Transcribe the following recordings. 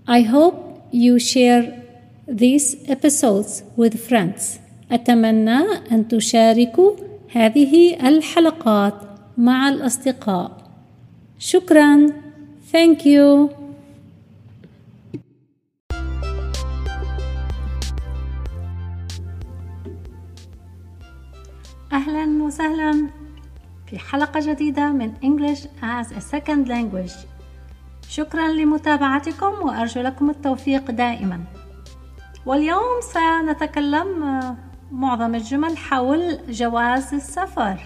I hope you share these episodes with friends. أتمنى أن تشاركوا هذه الحلقات مع الأصدقاء. شكراً. Thank you. أهلاً وسهلاً في حلقة جديدة من English as a Second Language. شكراً لمتابعتكم وأرجو لكم التوفيق دائماً. واليوم سنتكلم معظم الجمل حول جواز السفر.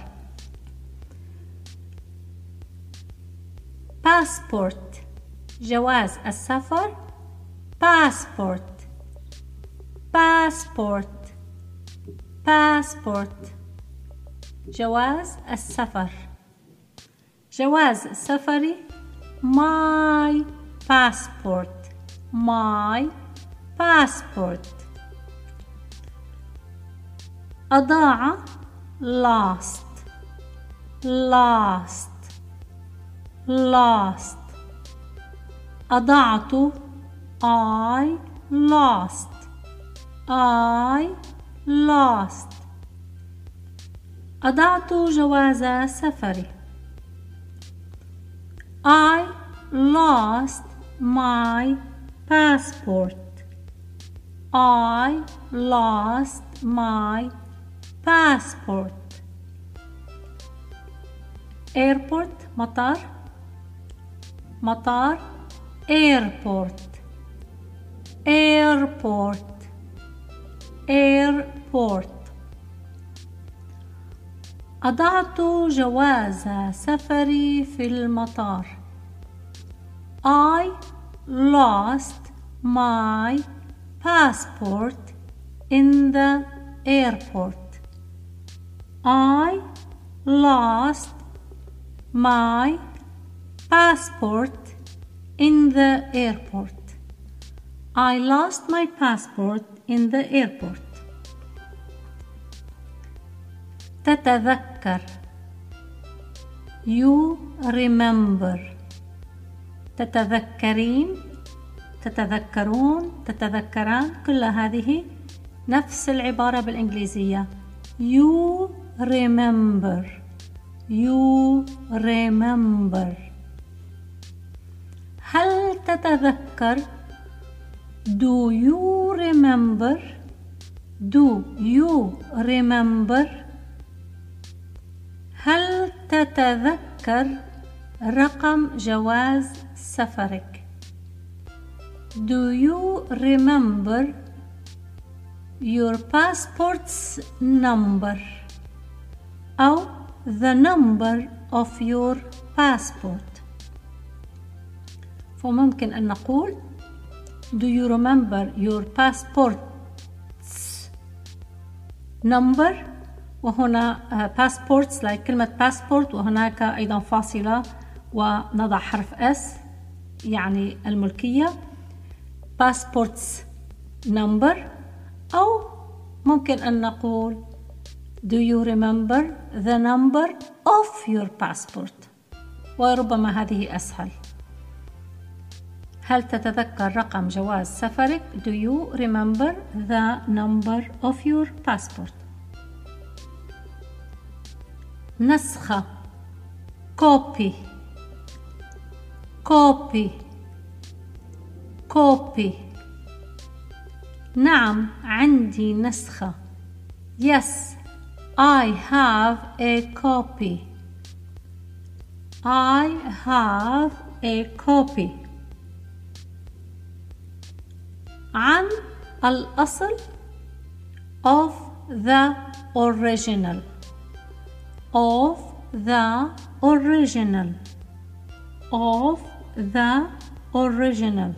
passport جواز السفر. passport passport passport جواز السفر. جواز سفري my passport my passport. أضاع lost lost lost. أضعت I lost I lost. أضعت جواز سفري. I lost my passport I lost my passport. airport مطار مطار airport airport airport. أضعت جواز سفري في المطار. I lost my passport in the airport. I lost my passport in the airport. I lost my passport in the airport. تتذكر you remember. تتذكرين تتذكرون تتذكران كل هذه نفس العبارة بالإنجليزية. you remember you remember. هل تتذكر do you remember do you remember. هل تتذكر رقم جواز سفرك. do you remember your passport's number أو the number of your passport. فممكن أن نقول do you remember your passport's number. وهنا passports like كلمة passport وهناك أيضا فاصلة ونضع حرف S يعني الملكية. passport's number أو ممكن أن نقول do you remember the number of your passport. وربما هذه أسهل. هل تتذكر رقم جواز سفرك. do you remember the number of your passport. نسخة copy copy copy. نعم عندي نسخة. yes I have a copy I have a copy. عن الأصل of the original of the original of the original.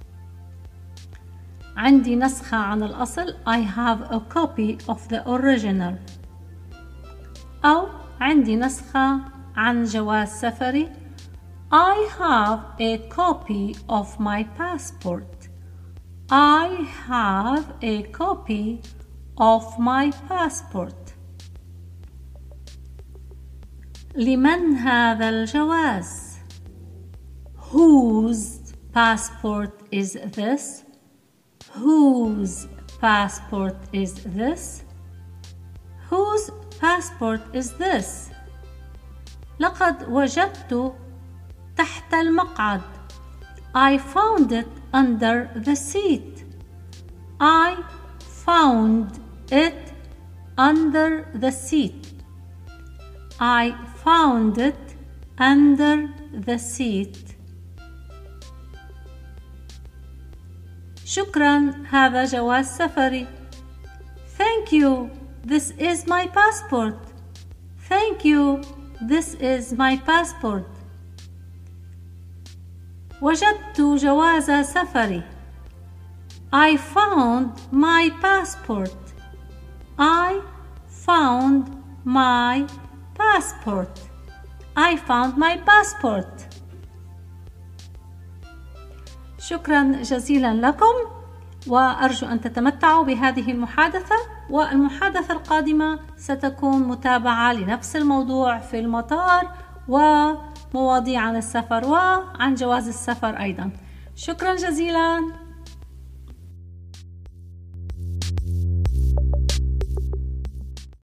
عندي نسخة عن الأصل I have a copy of the original. أو عندي نسخة عن جواز سفري I have a copy of my passport I have a copy of my passport. لمن هذا الجواز؟ whose passport is this? Whose passport is this? Whose passport is this? لقد وجدت تحت المقعد. I found it under the seat. I found it under the seat. I found it under the seat. شكرا، هذا جواز سفري. Thank you. This is my passport. Thank you. This is my passport. وجدت جواز سفري. I found my passport. I found my passport. I found my passport. شكرا جزيلا لكم، وأرجو أن تتمتعوا بهذه المحادثة، والمحادثة القادمة ستكون متابعة لنفس الموضوع في المطار ومواضيع عن السفر وعن جواز السفر أيضا. شكرا جزيلا.